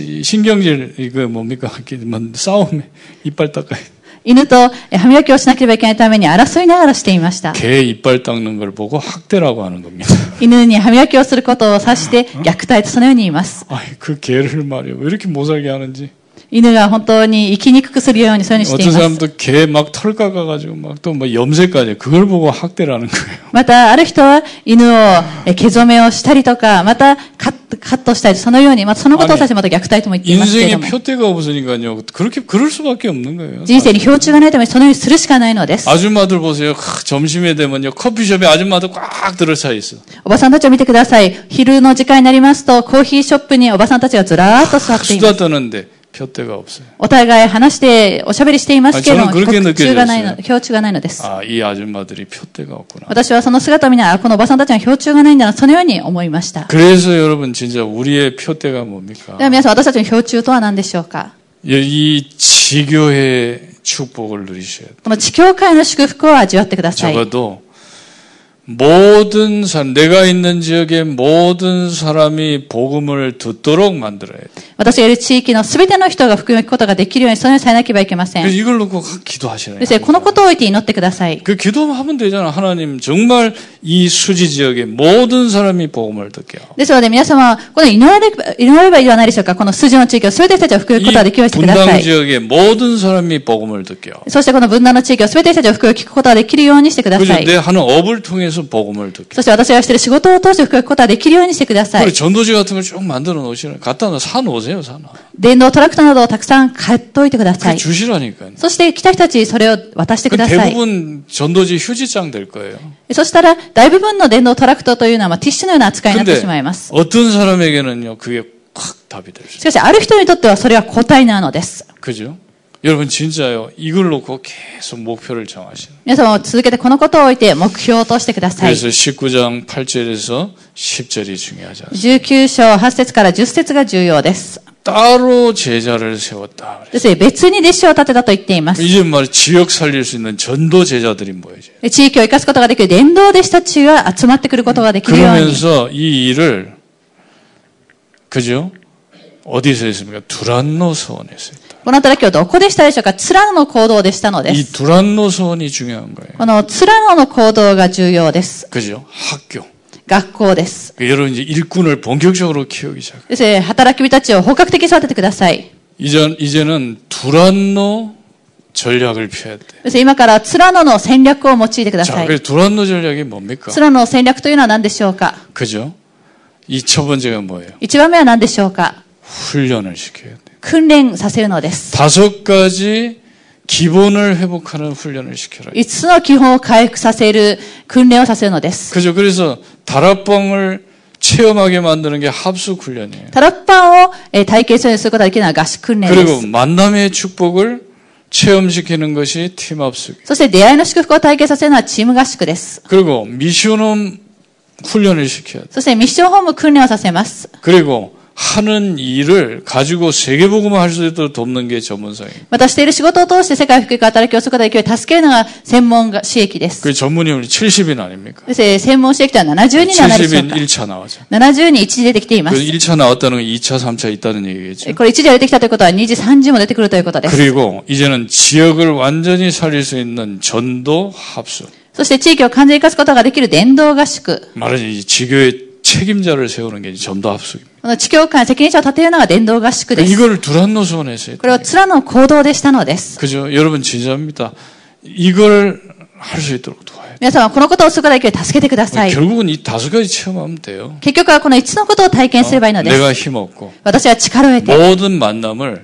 C: 신경질 이거 뭡니까? 뭐 싸움에 이빨 닦아야.
B: 犬と歯磨きをしなければいけないために争いながらしていました。
C: 개 이빨 닦는 걸 보고 학대라고 하는 겁니다.
B: 犬に歯磨きをすることを指して虐待とそのように言います。
C: 아이 그 개를 말이야 왜 이렇게 못 살게 하는지.
B: 犬が本当に生きにくくするようにそういうふうにしてい
C: 어떤
B: ます。
C: 사람도 개 막 털 깎아가지고 막 또 뭐 염색까지 그걸 보고 학대라는 거예요.
B: また、ある人は犬を毛染めをしたりとか、またカットしたり、そのように、またそのことを指してまた虐待とも言っていますけれど
C: 인생에
B: も。
C: 표대가 없으니까요. 그럴 수밖에 없는 거예요.
B: 人生に標柱がないためにそのようにするしかないのです。
C: 아줌마들 보세요. 점심에 되면요. 커피숍에 아줌마들 꽉 들어차 있어.
B: おばさんたちを見てください。昼の時間になりますと、コーヒーショップにおばさんたちがずらーっと座っています。
C: 수다 떠는데 표대가 없어요.
B: お互い話しておしゃべりしていますけれども、
C: 저는 그렇게
B: 標柱がない
C: 느껴졌어요.
B: の、標柱がないのです。
C: 아, 이 아줌마들이 표대가 없구나.
B: 私はその姿を見ながら、このおばさんたちは標柱がないんだな、そのように思いました。
C: 그래서 여러분 진짜 우리의 표대가 뭡니까?
B: では皆さん、私たちの標柱とは何でしょうか？
C: 이 지교회의 축복을 누리셔야 돼요.
B: この地教会の祝福を味わってください。
C: 적어도 모든 사람, 내가 있는 지역의 모든 사람이 복음을 듣도록 만들어야 돼.
B: 私がいる地域のすべての人が福音を聞くことができるようにそのようにされなければいけません。
C: 그래서 이걸 놓고 기도하시라요.
B: ですね、このことを置いて祈ってください。
C: 그 기도하면 되잖아. 하나님 정말 이 수지 지역의 모든 사람이 복음을 듣게요.
B: ですので皆様はこの祈らればいいではないでしょうか。この筋の地域をすべての人たちを福音を聞くことができるようにしてくださ
C: 분당
B: い。
C: 지역의 모든 사람이 복음을 듣게요.
B: そしてこの分断の地域をすべての人たちを福音を聞くことができるようにしてくだ
C: 그래서
B: さい。
C: 내 하는 업을 통해서 통해서 복음을 듣게.
B: そして私がしている仕事を通して福音を聞くことができるようにしてください。
C: 그리고 전도지 같은 걸 쭉 만들어 놓으시라. 갖다 사 놓으세요, 사놔.
B: 電動トラクターなどをたくさん買っておいてくださ
C: 그
B: い。
C: 주시라니까요.
B: そして来た人たちにそれを渡してく
C: 그
B: ださい。
C: 대부분 전도지 휴지장 될 거예요.
B: そしたら大部分の電動トラクターというのはティッシュのような扱いになって
C: 근데
B: しまいます。
C: 어떤 사람에게는요, 그게 확 답이 될 수
B: しかしある人にとってはそれは答えなのです。
C: 그죠? 여러분 진짜요. 이걸 놓고 계속 목표를 정하시는.
B: 皆様も続けてこのことを置いて目標としてください。
C: 그래서 19장 8절에서 10절이 중요하지 않습니다.
B: 19章8節から10節が重要です。
C: 따로 제자를 세웠다.
B: ですね、別に弟子を立てたと言っています。
C: 이제 말이 지역 살릴 수 있는 전도 제자들이 모여져요.
B: 地域を生かすことができる伝道弟子たちが集まってくることができるように。
C: 그러면서 이 일을 그죠? 어디서 했습니까? 두란노 서원에서 했다.
B: この働きをどこでしたでしょうか。ツラノの行動でしたので
C: 이
B: す。
C: 두란노 서원이 중요한 거예요.
B: このツラノの行動が重要です。
C: 그죠? 학교.
B: 学校です。
C: 여러분 이제 일꾼을 본격적으로 키우기 시작해요.
B: ですね、働き人たちを本格的に育ててください。
C: 이제는 두란노 전략을 펴야 돼.
B: ですね、今からツラノの戦略を用いてくだ
C: 자,
B: さい。
C: 그래서 두란노 전략이 뭡니까?
B: ツラノの戦略というのは何でしょうか。
C: 그죠? 이 첫 번째가 뭐예요?
B: 一番目は何でしょうか。
C: 훈련을 시켜야 돼.
B: 訓練させるのです。
C: 5가지 기본을 회복하는 훈련을 시켜라.
B: 5つの基本を回復させる訓練をさせるのです。
C: 그죠? 그래서 다락방을 체험하게 만드는 게 합숙 훈련이에요.
B: タラッパンを体験することができるのは合宿訓練で
C: 그리고
B: す。
C: 만남의 축복을 체험시키는 것이 팀 합숙.
B: そして出会いの祝福を体験させるのはチーム合宿です。
C: 그리고 미션홈 훈련을 시켜야 돼.
B: そしてミッションホーム訓練をさせます。
C: 그리고 하는 일을 가지고 세계복음을 할 수 있도록 돕는 게 전문성이에요.
B: またしている仕事を通して世界福音働きをすることができるように助けるのが専門私益です。
C: 그 전문이 우리 70인 아닙니까?
B: ですね、専門私益とは70人ではないでしょう
C: 70인
B: か。
C: 1차 나왔죠.
B: 70人一時出てきていま
C: 그
B: す。
C: 1차 나왔다는 건 2차, 3차 있다는 얘기겠죠.
B: これ一時出てきたということは2時、3時も出てくるということです。
C: 그리고 이제는 지역을 완전히 살릴 수 있는 전도 합숙.
B: そして地域を完全に生かすことができる伝道合宿。
C: 말하자면 이 지교의 책임자를 세우는 게 전도 합숙입니다.
B: この地教会責任者を立てるのが伝道合宿です。
C: 이걸 두란노 수원에서
B: これをツラの行動でしたのです。
C: 그죠? 여러분 진짜입니다. 이걸 할 수 있도록 도와야 돼요.
B: 皆様、このことをすることができるように助けてください。
C: 결국은 이 5가지 체험하면 돼요.
B: 結局はこの5つのことを体験すればいいのです。
C: 내가 힘없고
B: 私は力を得て、
C: 모든 만남을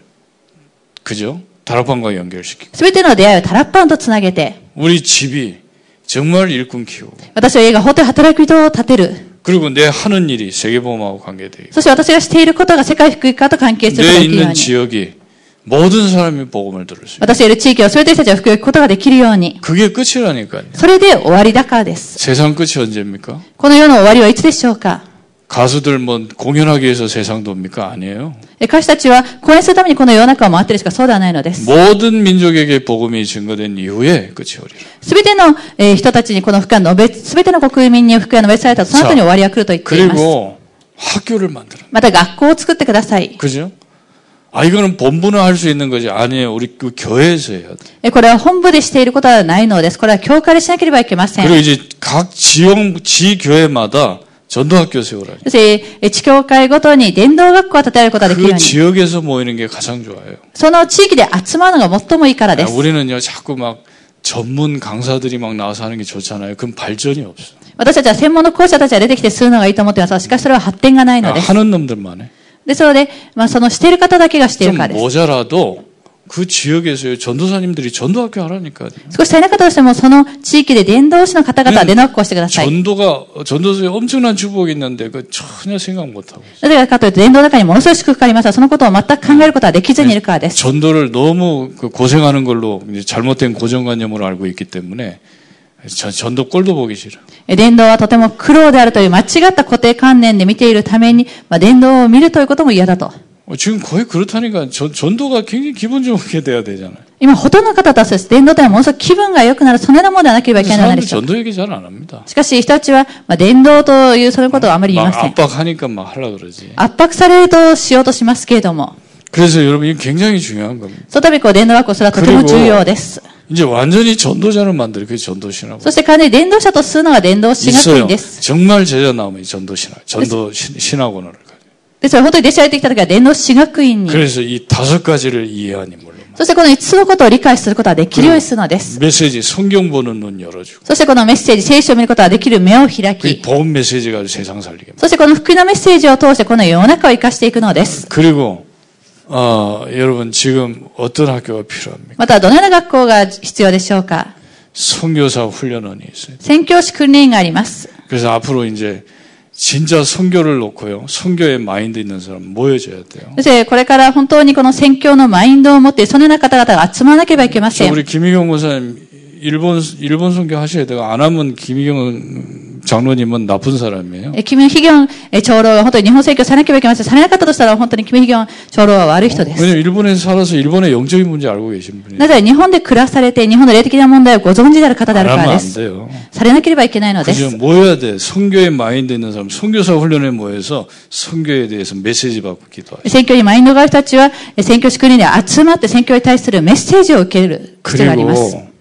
C: 그죠? 다락방과 연결시키고
B: すべての出会いをタラッパンとつなげて、
C: 우리 집이 정말 일꾼 키우고
B: 私は家が本当に働き人を立てる。
C: 그리고 내 하는 일이 세계보험하고 관계되고
B: そして私がしていることが世界福音化と関係することが
C: 내
B: できるよう
C: 있는
B: に。
C: 지역이 모든 사람이 복음을 들을 수 있어요.
B: 私がいる地域を全ての人たちが福音を聞くことができるように。
C: 그게 끝이라니까요.
B: それで終わりだからです。
C: 세상 끝이 언제입니까?
B: この世の終わりはいつでしょうか。
C: 가수들 뭐 공연하기 위해서 세상 돕니까? 아니에요.
B: 歌手たちは公演するためにこの世の中を回っているしかそうではないのです。
C: 모든 민족에게 복음이 증거된 이후에 끝이 오리라.
B: すべての人たちにこの福音を述べ、すべての国民に福音を述べされたと、その後に終わりが来ると言っています。
C: 그리고 학교를 만들어.
B: また学校を作ってください。
C: 그죠? 아, 이거는 본부는 할 수 있는 거지. 아니에요. 우리 그 교회에서 해야 돼.
B: これは本部でしていることはないのです。これは教会でしなければいけません。
C: 그리고 이제 각 지교회마다 전도학교 세우라니.
B: そして地教会ごとに伝道学校を建てることができるよう
C: 그
B: に。
C: 지역에서 모이는 게 가장 좋아요.
B: その地域で集まるのが最もいいからで
C: 아,
B: す。
C: 우리는요, 자꾸 막 전문 강사들이 막 나와서 하는 게 좋잖아요. 그럼 발전이 없어.
B: 私たちは専門の講師者たちが出てきてするのがいいと思っています。しかしそれは発展がないのです。
C: 하는 놈들만 해.
B: ですので、そのしている方だけがしてい
C: 좀
B: るからです。
C: 모자라도 그 지역에서요, 전도사님들이 전도학교 하라니까요.
B: 少し足りなかったとしても、その地域で伝道師の方々は伝道学校をしてください。
C: 전도서에 엄청난 축복이 있는데 그 전혀 생각 못하고 있어요.
B: なぜかというと、伝道の中にものすごい祝福がありますが、そのことを全く考えることはできずにいるからです。
C: 전도를 너무 그 고생하는 걸로 이제 잘못된 고정관념으로 알고 있기 때문에 전도 꼴도 보기 싫어.
B: 伝道はとても苦労であるという間違った固定観念で見ているために、伝道を見るということも嫌だと。
C: 지금 거의 그렇다니까 전도가 굉장히 기분 좋게 돼야 되잖아요.
B: 今、ほとんどの方たちです。伝道というのはものすごく気分が良くなる、そのようなものではなければいけないの
C: 사람들
B: でしょう。
C: 전도 얘기 잘 안 합니다.
B: しかし、人たちは、伝道というそのことをあまり言いま
C: 막
B: せん。
C: 압박하니까 막 하려고 그러지.
B: 圧迫されるとしようとしますけれども、
C: 그래서 여러분 이게 굉장히 중요한 겁니다.
B: そのために伝道学校するのはとても重要です。
C: 이제 완전히 전도자를 만들어 그게 전도신하고
B: そして完全に伝道者とするのが伝道神学
C: 있어요.
B: 院です。
C: 정말 제자 나오면 전도신학, 전도 신학원을 가요.
B: ですから本当に弟子が出てきた時は伝道師学院に。
C: 그래서 이 5가지를 이해하니 물론.
B: そしてこの5つのことを理解することができるようにするのです。
C: 메시지 성경 보는 눈 열어주고.
B: そしてこのメッセージ、聖書を見ることができる目を開
C: 그
B: き、
C: 복음 메시지가 세상 살리게.
B: そしてこの福音のメッセージを通してこの世の中を生かしていくのです。
C: 그리고 여러분 지금 어떤 학교가 필요합니까?
B: またどのような学校が必要でしょうか。
C: 선교사 훈련원이 있어요.
B: 宣教師訓練があります。
C: 그래서 앞으로 이제 진짜 선교를 놓고요. 선교의 마인드 있는 사람 모여져야 돼요.
B: そしてこれから本当にこの宣教のマインドを持ってそのような方々が集まらなければいけません。
C: 우리 김희경 목사님 일본 선교 하셔야 돼요. 안 하면 김희경 장로님은 나쁜 사람이에요.
B: キム・ヒギョン長老は本当に日本宣教されなければいけません。されなかったとしたら本当にキム・ヒギョン長老は悪い人です。
C: 왜냐면 일본에서 살아서 일본의 영적인 문제 알고 계신 분이에요.
B: なぜ日本で暮らされて日本の霊的な問題をご存知である方である
C: 안
B: から
C: 하면
B: で
C: 안
B: す。
C: 돼요.
B: されなければいけないので
C: 그죠?
B: す。
C: 모여야 돼. 선교의 마인드 있는 사람, 선교사 훈련에 모여서 선교에 대해서 메시지 받고 기도하죠.
B: 宣教にマインドがある人たちは宣教師訓練で集まって宣教に対するメッセージを受ける必要があります。
C: 그리고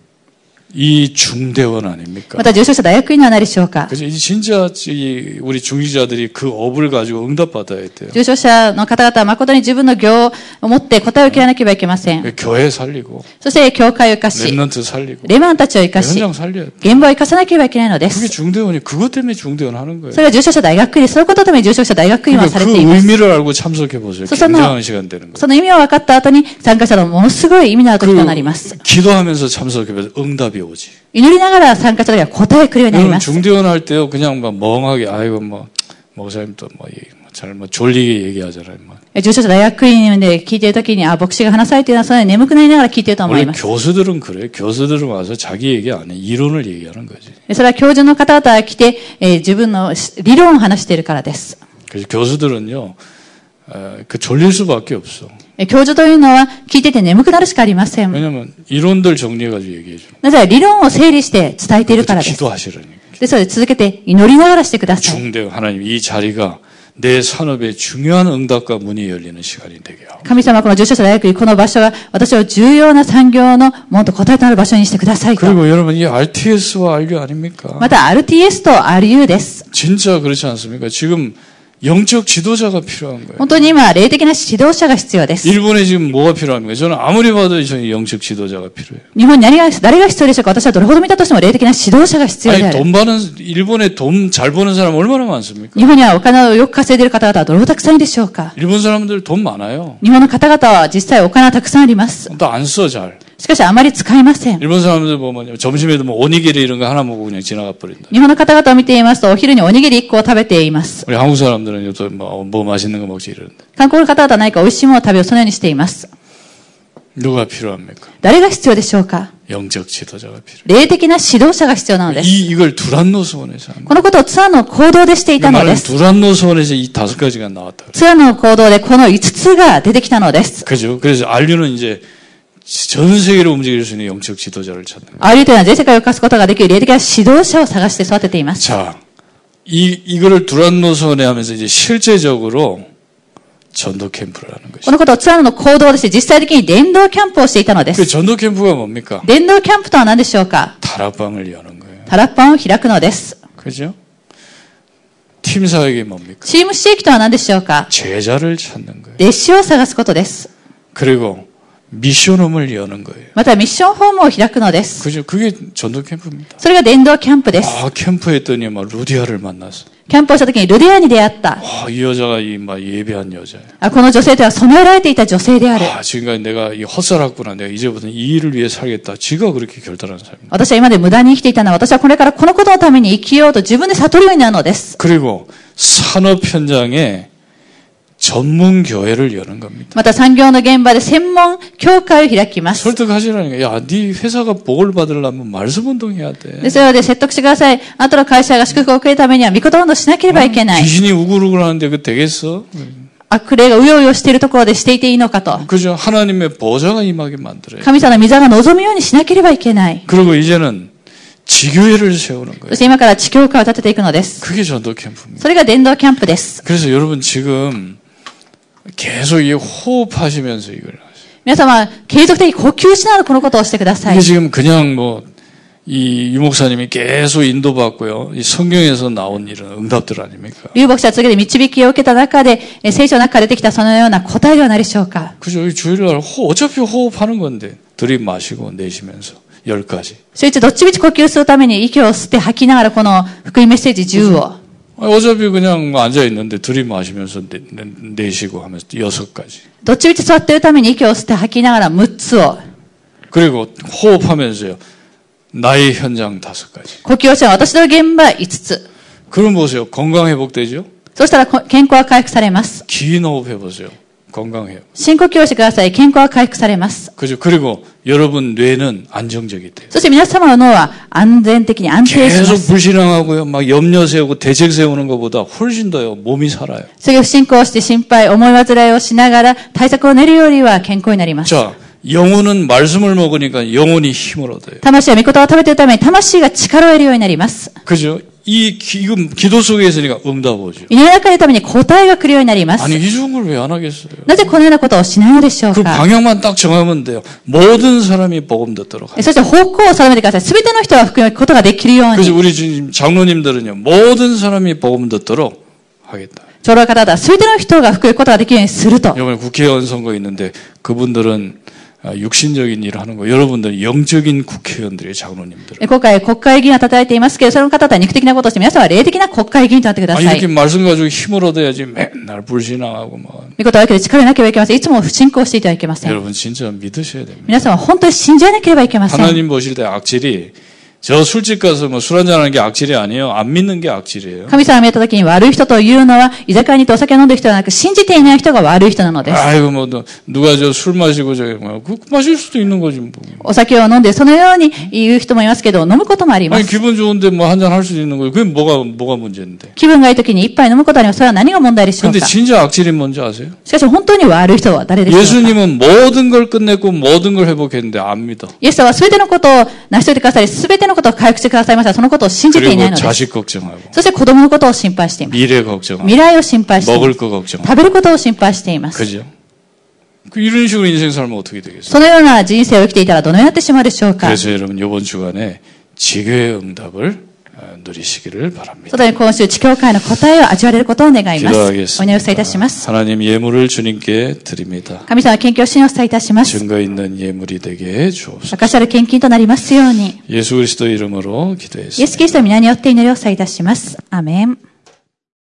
C: 이 중대원 아닙니까?
B: また重症者大学院は何でしょうか。
C: 그래서 이제 진짜 우리 중지자들이 그 업을 가지고 응답받아야 돼요.
B: 重症者の方々は誠に自分の業を持って答えを受けなければいけません。
C: 교회 살리고
B: そして教会を生かし、
C: 랩런트 살리고
B: レマンたちを生かし、
C: 현장 살려야 돼.
B: 現場を生かさなければいけないので
C: 그게
B: す。
C: 중대원이 그것 때문에 중대원 하는 거예요.
B: それが重症者大学院、そういうことのために重症者大学院は
C: 그러니까
B: されて
C: 그
B: います。
C: 의미를 알고 참석해 보세요. 굉장한 시간 되는 거예요.
B: その意味を分かった後に参加者のものすごい意味のある時となります。
C: 기도하면서 참석해 보세요. 응답이 오지.
B: 祈りながら参加者が答えくるようになり
C: 여러분
B: ます。
C: 중대원 할 때요 그냥 막 멍하게 아이고 뭐 목사님 또뭐 졸리게 얘기하잖아요. 뭐.
B: 重症者大学院で聞いている時に、牧師が話されているのはそれ眠くなりながら聞いていると思い
C: 원래
B: ます。
C: 교수들은 그래요. 교수들은 와서 자기 얘기 안 해. 이론을 얘기하는 거지.
B: それは教授の方々が来て、自分の理論を話しているからです。
C: 그래서 교수들은요 그 졸릴 수밖에 없어.
B: 教授というのは聞いてて眠くなるしかありません。
C: 왜냐면 이론들 정리해가지고 얘기해 줘.
B: なぜなら理論を整理して伝えているからです。
C: 기도하시라니까.
B: ですので続けて祈りながらしてください。
C: 중대 하나님 이 자리가 내 산업의 중요한 응답과 문이 열리는 시간이 되게 하고.
B: 神様はこの重症者大学院、この場所が私を重要な産業のもっと答えとなる場所にしてくださいと。
C: 그리고 여러분 이 RTS와 RU 아닙니까?
B: また RTS と RU です。
C: 진짜 그렇지 않습니까? 지금 영적 지도자가 필요한 거예요.
B: 本当に今、霊的な指導者が必要です。
C: 일본에 지금 뭐가 필요합니까? 저는 아무리 봐도 저는 영적 지도자가 필요해요.
B: 日本に誰が必要でしょうか。私はどれほど見たとしても霊的な指導者が必要で
C: 아니
B: ある。
C: 돈 버는 일본에 돈 잘 버는 사람 얼마나 많습니까?
B: 日本にはお金をよく稼いでいる方々はどれほどたくさんいるでしょうか。
C: 일본 사람들 돈 많아요.
B: 日本の方々は実際お金はたくさんあります。
C: 또 안 써 잘.
B: しかしあまり使いません。
C: 일본 사람들 보면 점심에도 뭐 오니기리 이런 거 하나 먹고 그냥 지나가 버린다.
B: 日本の方々を見ていますと、お昼におにぎり1個を食べています。
C: 우리 한국 사람들은 또 뭐 맛있는 거 먹지 이러는데.
B: 韓国の方々は何か美味しいものを食べよう、そのようにしています。
C: 누가 필요합니까?
B: 誰が必要でしょうか。
C: 영적 지도자가 필요해요.
B: 霊的な指導者が必要なのです。
C: 이걸 두란노스원에서 하는
B: このことをツアーの行動でしていたの
C: 거예요.
B: です。
C: 두란노스원에서 이 5가지가 나왔다.
B: ツアーの行動でこの5つが出てきたのです。
C: 그죠? 그래서 RU는 이제 전 세계로 움직일 수 있는 영적 지도자를 찾는 거예요.
B: RU というのは全世界を動かすことができる霊的な指導者を探して育てています。
C: 자, 이거를 두란노스원에 하면서 이제 실제적으로 전도 캠프를 하는
B: こ
C: 것이죠.
B: のことをツアーの行動でして実際的に伝道キャンプをしていたので
C: 그
B: す。
C: 전도 캠프가 뭡니까?
B: 伝道キャンプとは何でしょうか。
C: 다락방을 여는 거예요.
B: タラッパンを開くのです。
C: 그죠? 팀 사역이 뭡니까?
B: チーム刺激とは何でしょうか。
C: 제자를 찾는 거예요.
B: 弟子を探すことです。
C: 그리고 미션홈을 여는 거예요.
B: またミッションホームを開くのです。
C: 그죠? 그게 전도 캠프입니다.
B: それが伝道キャンプです。
C: 아, 캠프에 했더니 막 루디아를 만났어.
B: キャンプをした時にルディアに出会った。
C: 아, 이 여자가 막 예배한 여자예요.
B: この女性とは染められていた女性である。
C: 아, 지금까지 내가 이 헛살았구나. 내가 이제부터는 이 일을 위해 살겠다. 지가 그렇게 결단한 사람입니다.
B: 私は今まで無駄に生きていたのは私はこれからこのことのために生きようと自分で悟るようになるのです。
C: 그리고 산업 현장에 전문 교회를 여는 겁니다.
B: また産業の現場で専門教会を開きます。
C: 설득하시라니까. 야, 네 회사가 복을 받으려면 말씀 운동해야 돼.
B: ですので説得してください。あなたの会社が祝福を受けるためには御言運動しなければいけない。
C: 귀신이 우글우글 하는데 그 되겠어?
B: 悪霊がうようよしているところでしていていいのかと。
C: 그죠? 하나님의 보좌가 임하게 만들어요.
B: 神様の御座が望むようにしなければいけない。
C: 그리고 이제는 지교회를 세우는
B: そ
C: 거예요.
B: して今から地教会を立てていくのです。
C: 그게 전도 캠프입니다.
B: それが伝道キャンプです。
C: 그래서 여러분 지금 계속 이 호흡하시면서 이걸 하세요.
B: 皆様、継続的に呼吸しながらこのことをしてください
C: 이게 。 지금 그냥 뭐 이 유목사님이 계속 인도받고요. 이 성경에서 나온 이런 응답들 아닙니까?
B: 劉牧師は次で導きを受けた中で、聖書の中から出てきたそのような答えではないでしょうか。
C: 그죠? 주일날 어차피 호흡하는 건데 들이마시고 내쉬면서 10가지.
B: そいつどっちみち呼吸するために息を吸って吐きながらこの福音メッセージ10を。
C: 어차피 그냥 앉아있는데 들이마시면서 내쉬고 하면서 6가지.
B: どっちみち座っているために息を吸って吐きながら6つを。
C: 그리고 호흡하면서요. 나의 현장 5가지.
B: 呼吸をした私の現場5つ。
C: 그럼 보세요. 건강 회복되죠?
B: そしたら健康は回復されます。
C: 긴 호흡 해보세요. 건강해요.
B: 深呼吸をしてください。健康は回復されます。
C: 그죠? 그리고 여러분 뇌는 안정적이 돼요.
B: そして皆様の脳は安全的に安定しま
C: 계속
B: す。
C: 불신앙하고요. 막 염려 세우고 대책 세우는 것보다 훨씬 더요. 몸이 살아요.
B: それを不信仰して心配、思い煩いをしながら対策を練るよりは健康になります。
C: 자, 영혼은 말씀을 먹으니까 영혼이 힘을 얻어요.
B: 魂は御言葉を食べているために魂が力を得るようになります。
C: 그죠? 지금 기도 속에 있으니까 응답 오죠.
B: 祈りがかかるために答えが来るようになります。
C: 아니, 이 좋은 걸 왜 안 하겠어요?
B: なぜこのようなことをしないのでしょう
C: 그
B: か。
C: 방향만 딱 정하면 돼요. 모든 사람이 복음 듣도록 하요.
B: そして方向を定めてください。すべての人が福音を聞くことができるよう
C: 그래서
B: に。
C: 우리 지금 장로님들은요. 모든 사람이 복음 듣도록 하겠다.
B: 長老方々はすべての人が福音を聞くことができるようにすると。
C: 이번에 국회의원 선거 있는데 그분들은 육신적인 일을 하는 거. 여러분들은 영적인 국회의원들이에요. 장로님들.
B: 今回国会議員を叩いていますけど、その方々は肉的なことをして、皆さんは霊的な国会議員となってくだ
C: 아니
B: さ
C: 이렇게
B: い。
C: 말씀 가지고 힘을 얻어야지 맨날 불신앙하고 막.
B: 御言葉だけで力を得なければいけません。いつも不信仰していてはいけません。
C: 여러분 진짜 믿으셔야 됩니다.
B: 皆さんは本当に信じなければいけません。
C: 하나님 보실 때 악질이 저 술집 가서 뭐 술 한잔하는 게 악질이 아니에요. 안 믿는 게 악질이에요.
B: 神様が見たときに悪い人というのは、居酒屋に行ってお酒を飲んでいる人ではなく、信じていない人が悪い人なのです。
C: 아이고 뭐 누가 저 술 마시고 저기 뭐 그 마실 수도 있는 거지 뭐.
B: お酒を飲んで、そのように言う人もいますけど、飲むこともありま
C: 아니
B: す。
C: 기분 좋은데 뭐 한잔 할 수도 있는 거예요. 그게 뭐가 문제인데.
B: 気分がいいときに一杯飲むことには、それは何が問題でしょう
C: 근데
B: か。
C: 진짜 악질이 뭔지 아세요?
B: しかし本当に悪い人は誰でしょうか。
C: 예수님은 모든 걸 끝냈고 모든 걸 회복했는데 안 믿어.
B: イエス様は全てのことを成し遂げてくださり、全てのことを回復してくださいました。そのことを信じていない
C: 그리고
B: のです。
C: 자식 걱정하고
B: そして子供のことを心配しています。
C: 미래 걱정하고
B: 未来を心配していま
C: 먹을
B: す。
C: 거 걱정하고
B: 食べることを心配しています。
C: 그죠? 이런 식으로 인생 살면 어떻게 되겠어요?
B: そのような人生を生きていたらどのようになってしまうでしょうか。
C: 그래서 여러분 이번 주간에 지교의 응답을 누리시기를
B: そ
C: 바랍니다.
B: のように今週、地教会の答えを味わわれることを願います。お
C: 기도하겠습니다.
B: 祈りをさいたします。
C: 하나님 예물을 주님께 드립니다.
B: 神様は献金を信をさいたします。
C: 증거 있는 예물이 되게 해 주옵소서.
B: 証しある献金となりますように。
C: 예수 그리스도 이름으로
B: イエス・
C: 기도했습니다.
B: キリストの皆によって祈りをさいたします。アーメン。